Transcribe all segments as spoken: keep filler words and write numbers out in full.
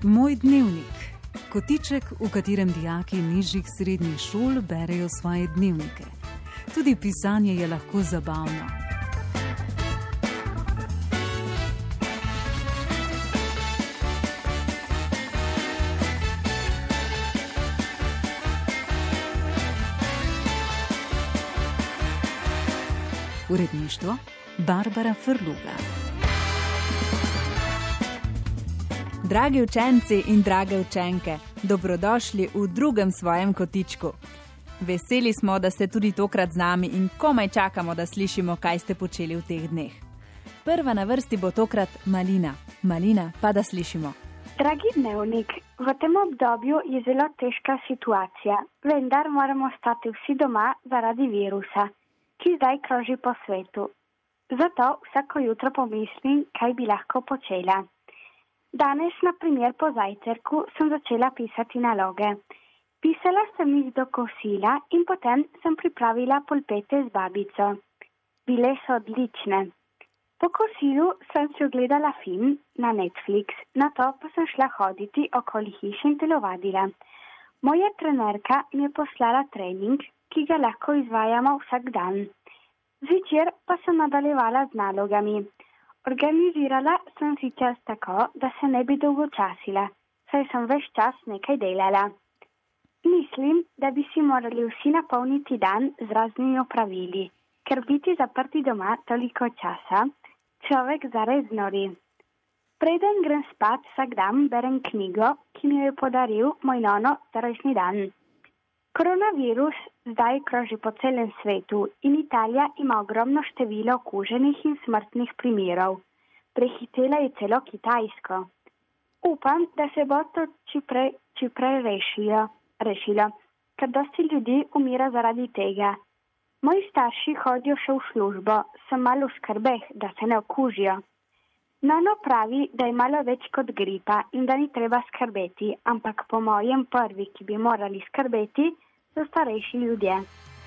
Moj dnevnik. Kotiček, v katerem dijaki nižjih srednjih šol berejo svoje dnevnike. Tudi pisanje je lahko zabavno. Uredništvo Barbara Frluga. Dragi učenci in drage učenke, dobrodošli v drugem svojem kotičku. Veseli smo, da ste tudi tokrat z nami in komaj čakamo, da slišimo, kaj ste počeli v teh dneh. Prva na vrsti bo tokrat Malina. Malina, pa da slišimo. Dragi dnevnik, v tem obdobju je zelo težka situacija, vendar moramo ostati vsi doma zaradi virusa, ki zdaj kroži po svetu. Zato vsako jutro pomislim, kaj bi lahko počela. Danes, na primer po zajtrku, sem začela pisati naloge. Pisala sem jih do kosila in potem sem pripravila polpete z babico. Bile so odlične. Po kosilu sem si ogledala film na Netflix, nato pa sem šla hoditi okoli hiše in telovadila. Moja trenerka mi je poslala trening, ki ga lahko izvajamo vsak dan. Zvečer pa sem nadaljevala z nalogami. Organizirala sem si čas tako, da se ne bi dolgočasila, saj sem ves čas nekaj delala. Mislim, da bi si morali vsi napolniti dan z raznimi opravili, ker biti zaprti doma toliko časa, človek zares nori. Preden grem spat, vsak dan berem knjigo, ki mi jo je podaril moj nono za rojstni dan. Koronavirus zdaj kroži po celem svetu in Italija ima ogromno število okuženih in smrtnih primerov. Prehitela je celo Kitajsko. Upam, da se bo to čiprej, čiprej rešilo, rešilo, ker dosti ljudi umira zaradi tega. Moji starši hodijo še v službo, sem malo v skrbeh, da se ne okužijo. Nono pravi, da je malo več kot gripa in da ni treba skrbeti, ampak po mojem prvi, ki bi morali skrbeti, so starejši ljudje.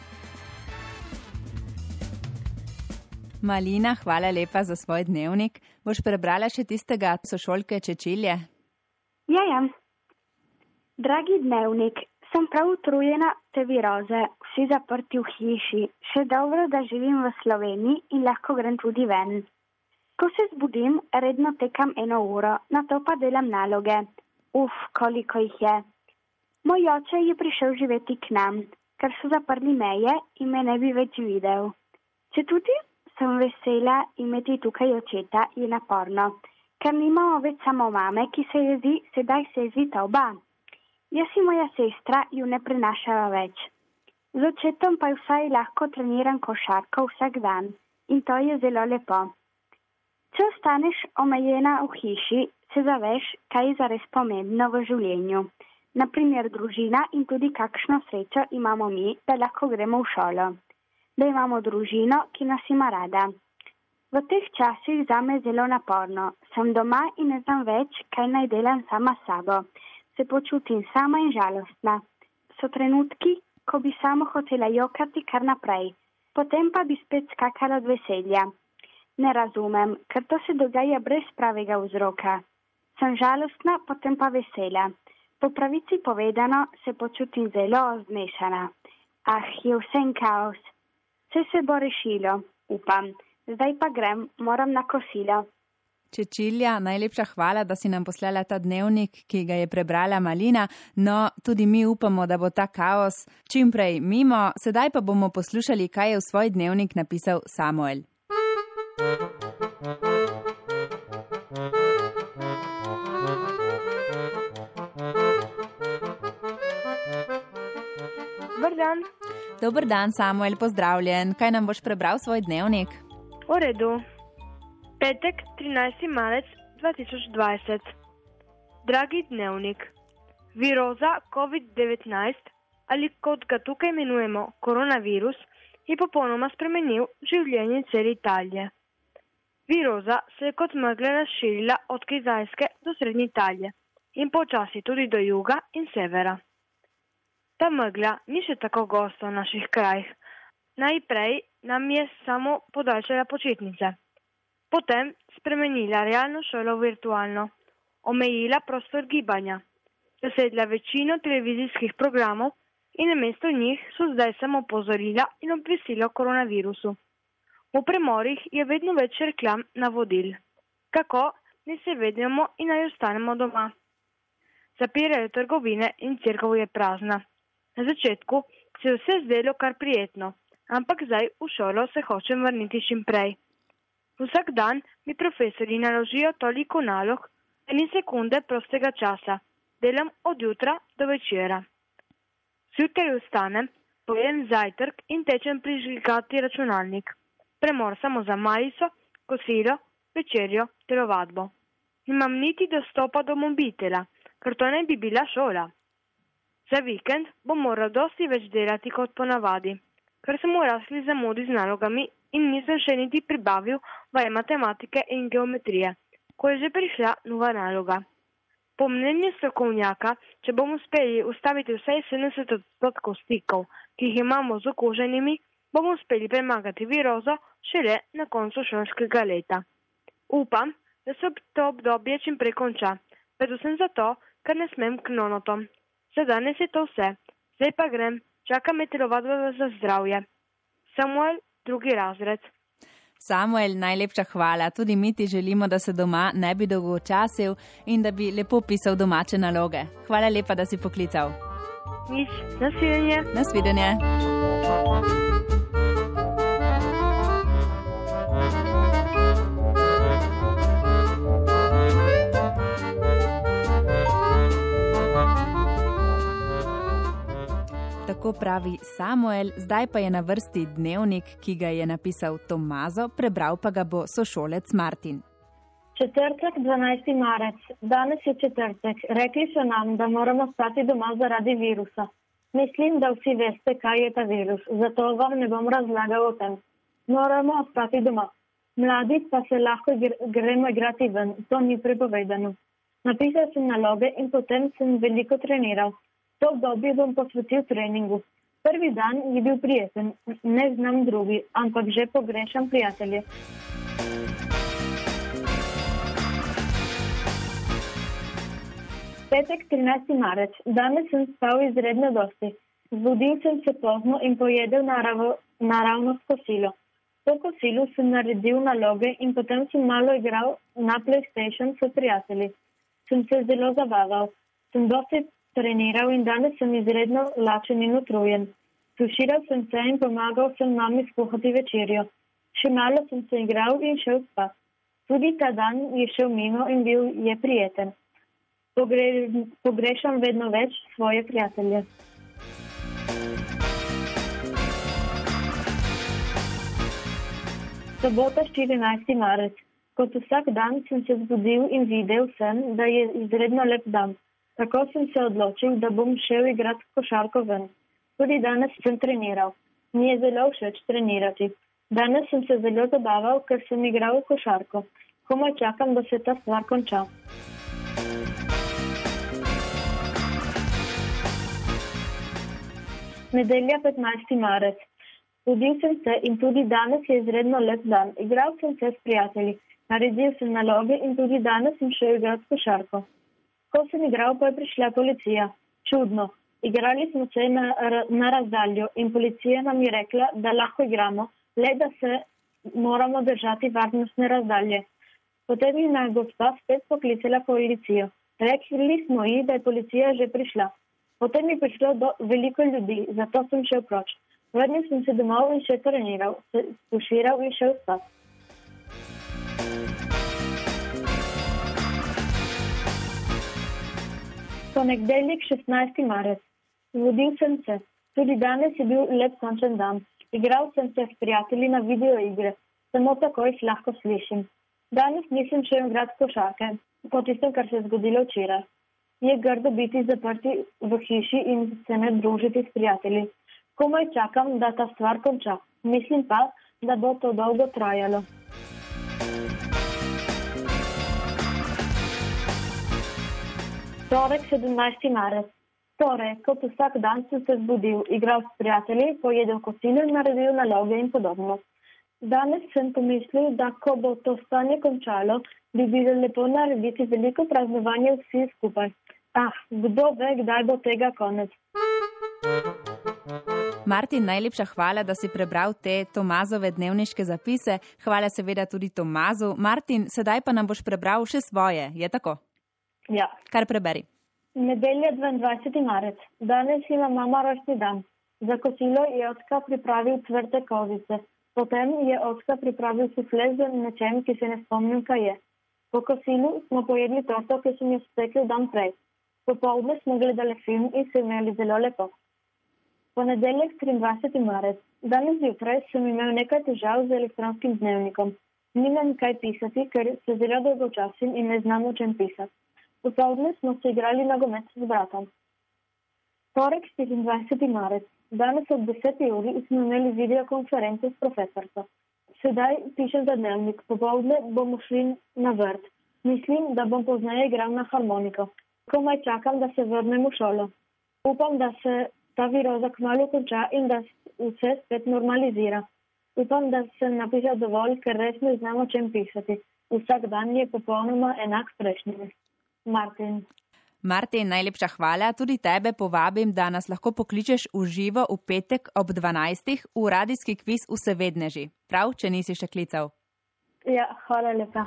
Malina, hvala lepa za svoj dnevnik. Boš prebrala še tistega sošolke Čečilje? Ja, ja. Dragi dnevnik, sem prav utrujena te viroze, vsi zaprti v hiši. Še dobro, da živim v Sloveniji in lahko grem tudi ven. Ko se zbudim, redno tekam eno uro, nato pa delam naloge. Uf, koliko jih je. Moj oče je prišel živeti k nam, ker so zaprli meje in me ne bi več videl. Če tudi sem vesela imeti tukaj očeta, je naporno, ker nimamo več samo mame, ki se jezi, sedaj se jezita oba. Jaz in moja sestra ju ne prenašava več. Z očetom pa vsaj lahko treniram košarko vsak dan in to je zelo lepo. Če ostaneš omejena v hiši, se zaveš, kaj je zares pomembno v življenju. Naprimer družina in tudi kakšno srečo imamo mi, da lahko gremo v šolo. Da imamo družino, ki nas ima rada. V teh časih zame zelo naporno. Sem doma in ne znam več, kaj naj delam sama s sabo. Se počutim sama in žalostna. So trenutki, ko bi samo hotela jokati kar naprej. Potem pa bi spet skakala od veselja. Ne razumem, ker to se dogaja brez pravega vzroka. Sem žalostna, potem pa vesela. Po pravici povedano se počutim zelo zmešana. Ah, je vse en kaos. Vse se bo rešilo, upam. Zdaj pa grem, moram na kosilo. Čečilja, najlepša hvala, da si nam poslala ta dnevnik, ki ga je prebrala Malina. No, tudi mi upamo, da bo ta kaos čim prej mimo. Sedaj pa bomo poslušali, kaj je v svoj dnevnik napisal Samuel. Dobar dan. Dobar dan, Samuel, pozdravljen. Kaj nam boš prebral svoj dnevnik? V redu. Petek, trinajsti marec dva tisoč dvajset. Dragi dnevnik, viroza covid devetnajst, ali kot ga tukaj imenujemo koronavirus, je popolnoma spremenil življenje cele Italije. Viroza se je kot megla razširila od Kitajske do srednje Italije in počasi tudi do juga in severa. Ta megla ni še tako gosta v naših krajih. Najprej nam je samo podaljšala počitnice. Potem spremenila realno šolo v virtualno. omejila prostor gibanja, zasedla večino televizijskih programov in namesto njih so zdaj samo opozorila in obvestila o koronavirusu. V premorih je vedno več reklam navodil. Kako naj se vedemo in naj ostanemo doma. Zapirajo trgovine in cerkev je prazna. Na začetku se je vse zdelo kar prijetno, ampak zdaj v šolo se hočem vrniti čim prej. Vsak dan mi profesori naložijo toliko nalog, da ni sekunde prostega časa. Delam od jutra do večera. Zjutraj vstanem, pojem zajtrk in tečem prižigati računalnik. Premor samo za majico, kosilo, večerjo, telovadbo. Nimam niti dostopa do mobitela, ker to ne bi bila šola. Za vikend bom moral dosti več delati kot ponavadi, ker sem v rasli zamudi z nalogami in nisem še niti pribavil vaje matematike in geometrije, ko je že prišla nova naloga. Po mnenju strokovnjaka, če bomo uspeli ustaviti vsaj sedemdeset odstotkov stikov, ki jih imamo z okuženimi, bomo uspeli premagati virozo šele na koncu šolskega leta. Upam, da se to obdobje čim prej konča, predvsem zato, ker ne smem k nonotom. Za danes je to vse. Zdaj pa grem, čaka me telovadba za zdravje. Samuel, drugi razred. Samuel, najlepša hvala. Tudi mi ti želimo, da se doma ne bi dolgočasil in da bi lepo pisal domače naloge. Hvala lepa, da si poklical. Nič, nasvidenje. Nasvidenje. Tako pravi Samuel, zdaj pa je na vrsti dnevnik, ki ga je napisal Tomazo, prebral pa ga bo sošolec Martin. Četrtek, dvanajsti marec. Danes je četrtek. Rekli so nam, da moramo stati doma zaradi virusa. Mislim, da vsi veste, kaj je ta virus, zato vam ne bom razlagal o tem. Moramo ostati doma. Mladi pa se lahko gremo igrati ven, to ni prepovedano. Napisal sem naloge in potem sem veliko treniral. To obdobje bom posvetil treningu. Prvi dan je bil prijeten, ne znam drugi, ampak že pogrešam prijatelje. Petek, trinajsti marec. Danes sem spal izredno dosti. Zbudil sem se pozno in pojedel naravo, naravnost kosilo. Po kosilu sem naredil naloge in potem sem malo igral na PlayStation s prijatelji. Sem se zelo zabaval. Sem dosti treniral in danes sem izredno lačen in utrujen. Tuširal sem se in pomagal sem mami skuhati večerjo. Še malo sem se igral in šel spat. Tudi ta dan je šel mimo in bil je prijeten. Pogre, pogrešam vedno več svoje prijatelje. Sobota, štirinajsti marec. Kot vsak dan sem se zbudil in videl sem, da je izredno lep dan. Tako sem se odločil, da bom šel igrati košarko ven. Tudi danes sem treniral. Mi je zelo všeč trenirati. Danes sem se zelo zabaval, ker sem igral košarko. Komaj čakam, da se ta stvar konča. Nedelja, petnajsti marec. Budil sem se in tudi danes je izredno lep dan. Igral sem se s prijatelji. Naredil sem naloge in tudi danes sem šel igrati košarko. Ko sem igral, pa je prišla policija. Čudno. Igrali smo se na, na razdaljo in policija nam je rekla, da lahko igramo, le da se moramo držati varnostne razdalje. Potem je na gospa spet poklicala policijo. Rekli smo ji, da je policija že prišla. Potem je prišlo do veliko ljudi, zato sem šel proč. Vrnil sem se domov in še treniral, se tuširal in šel spat. Ponedeljek, šestnajsti marec. Zbudil sem se. Tudi danes je bil lep sončen dan. Igral sem se s prijatelji na videoigre. Samo tako jih lahko slišim. Danes nisem šel igrati košarke, po tistem, kar se je zgodilo včeraj. Je grdo biti zaprti v hiši in se ne družiti s prijatelji. Komaj čakam, da ta stvar konča. Mislim pa, da bo to dolgo trajalo. Torek, sedemnajsti marec. Torej, kot vsak dan sem se zbudil, igral s prijatelji, pojedel kosilo in naredil naloge in podobno. Danes sem pomislil, da ko bo to stanje končalo, bi bilo lepo narediti veliko praznovanje vsi skupaj. Ah, kdo ve, kdaj bo tega konec. Martin, najlepša hvala, da si prebral te Tomazove dnevniške zapise. Hvala seveda tudi Tomazu. Martin, sedaj pa nam boš prebral še svoje, je tako? Ja. Kar preberi. Nedelja dvaindvajseti marec. Danes ima mama rojstni dan. Za kosilo je očka pripravil cvrte kozice. Potem je očka pripravil sufle z nečem, ki se ne spomnim, kaj je. Po kosilu smo pojedli torto, ki sem jo spekel dan prej. Popoldne smo gledali film in se imeli zelo lepo. Ponedeljek triindvajseti marec. Danes zjutraj sem imel nekaj težav z elektronskim dnevnikom. Nimam kaj pisati, ker se zelo dolgočasim in ne znam o čem pisati. Popoldne smo se igrali nogomet s bratom. Torek štiriindvajseti marec. Danes ob deseti uri smo imeli videokonferenco s profesorko. Sedaj pišem za dnevnik. Popoldne bomo šli na vrt. Mislim, da bom pozneje igral na harmoniko. Komaj čakam, da se vrnem v šolo. Upam, da se ta viroza kmalu konča in da vse spet normalizira. Upam, da sem napisal dovolj, ker res ne znam o čem pisati. Vsak dan je popolnoma enak prejšnjim. Martin. Martin, najlepša hvala. Tudi tebe povabim, da nas lahko pokličeš v živo v petek ob dvanajstih v radijski kviz Vsevedneži. Prav, če nisi še klical? Ja, hvala lepa.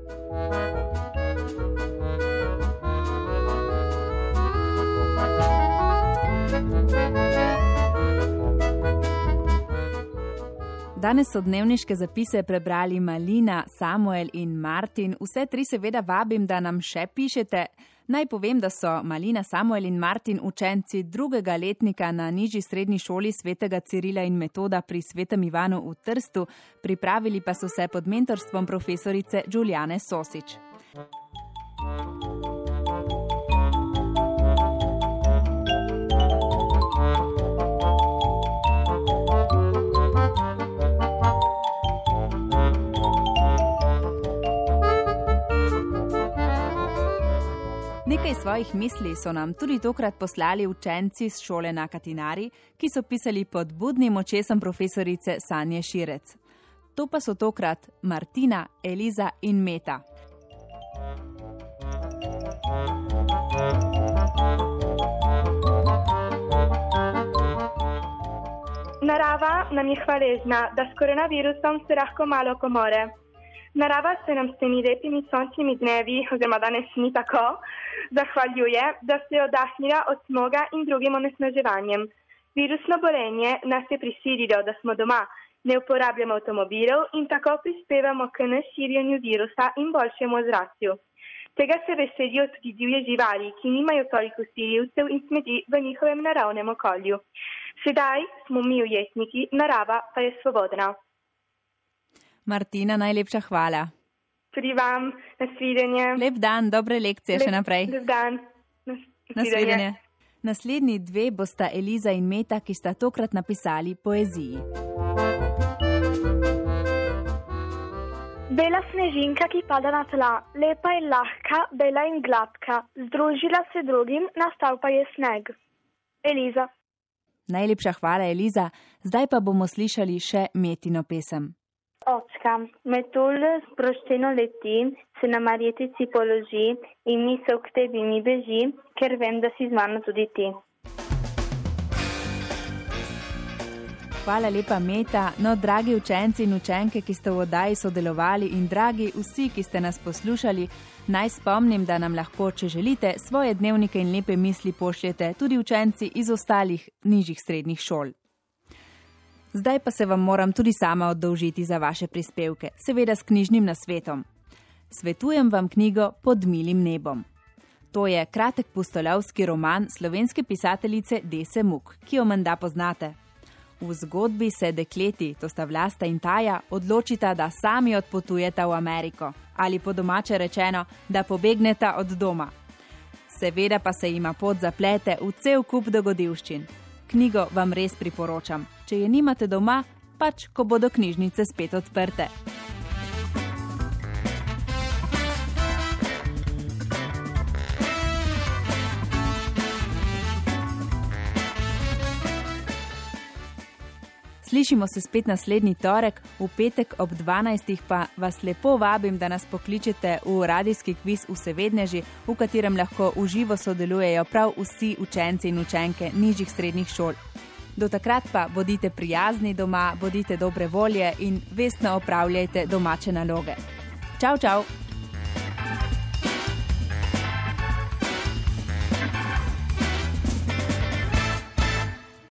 Danes so dnevniške zapise prebrali Malina, Samuel in Martin. Vse tri seveda vabim, da nam še pišete. Naj povem, da so Malina, Samuel in Martin učenci drugega letnika na nižji srednji šoli svetega Cirila in Metoda pri Svetem Ivanu v Trstu, pripravili pa so se pod mentorstvom profesorice Đulijane Sosič. Nekaj svojih misli so nam tudi tokrat poslali učenci z šole na Katinari, ki so pisali pod budnim očesom profesorice Sanje Širec. To pa so tokrat Martina, Eliza in Meta. Narava nam je hvaležna, da s koronavirusom se lahko malo komore. Narava se nam s temi lepimi sončnimi dnevi, oziroma danes ni tako, zahvaljuje, da se je oddahnila od smoga in drugim onesnaževanjem. Virusno bolenje nas je prisililo, da smo doma, ne uporabljamo avtomobilov in tako prispevamo k neširjenju virusa in boljšemu ozračju. Tega se veselijo tudi divje živali, ki nimajo toliko silivcev in smeti v njihovem naravnem okolju. Sedaj smo mi ujetniki, narava pa je svobodna. Martina, najlepša hvala. Tudi vam, nasvidenje. Lep dan, dobre lekcije lep, še naprej. Lep dan, nasvidenje. Nasvidenje. Naslednji dve bosta Eliza in Meta, ki sta tokrat napisali poeziji. Bela snežinka, ki pada na tla, lepa in lahka, bela in gladka, združila se drugim, nastal pa je sneg. Eliza. Najlepša hvala, Eliza. Zdaj pa bomo slišali še Metino pesem. Očka, metulj sproščeno leti, se na marjetici položi in misel k tebi mi beži, ker vem, da si z mano tudi ti. Hvala lepa, Meta. No, dragi učenci in učenke, ki ste v oddaji sodelovali in dragi vsi, ki ste nas poslušali, naj spomnim, da nam lahko, če želite, svoje dnevnike in lepe misli pošljete tudi učenci iz ostalih nižjih srednjih šol. Zdaj pa se vam moram tudi sama oddolžiti za vaše prispevke, seveda s knjižnim nasvetom. Svetujem vam knjigo Pod milim nebom. To je kratek pustolovski roman slovenske pisateljice Dese Muck, ki jo menda poznate. V zgodbi se dekleti, to sta Vlasta in Taja, odločita, da sami odpotujeta v Ameriko, ali po domače rečeno, da pobegneta od doma. Seveda pa se jima pot zaplete v cel kup dogodivščin. Knjigo vam res priporočam. Če je nimate doma, pač ko bodo knjižnice spet odprte. Slišimo se spet naslednji torek, v petek ob dvanajstih pa vas lepo vabim, da nas pokličete v radijski kviz Vsevedneži, v katerem lahko v živo sodelujejo prav vsi učenci in učenke nižjih srednjih šol. Do takrat pa bodite prijazni doma, bodite dobre volje in vestno opravljajte domače naloge. Čau, čau!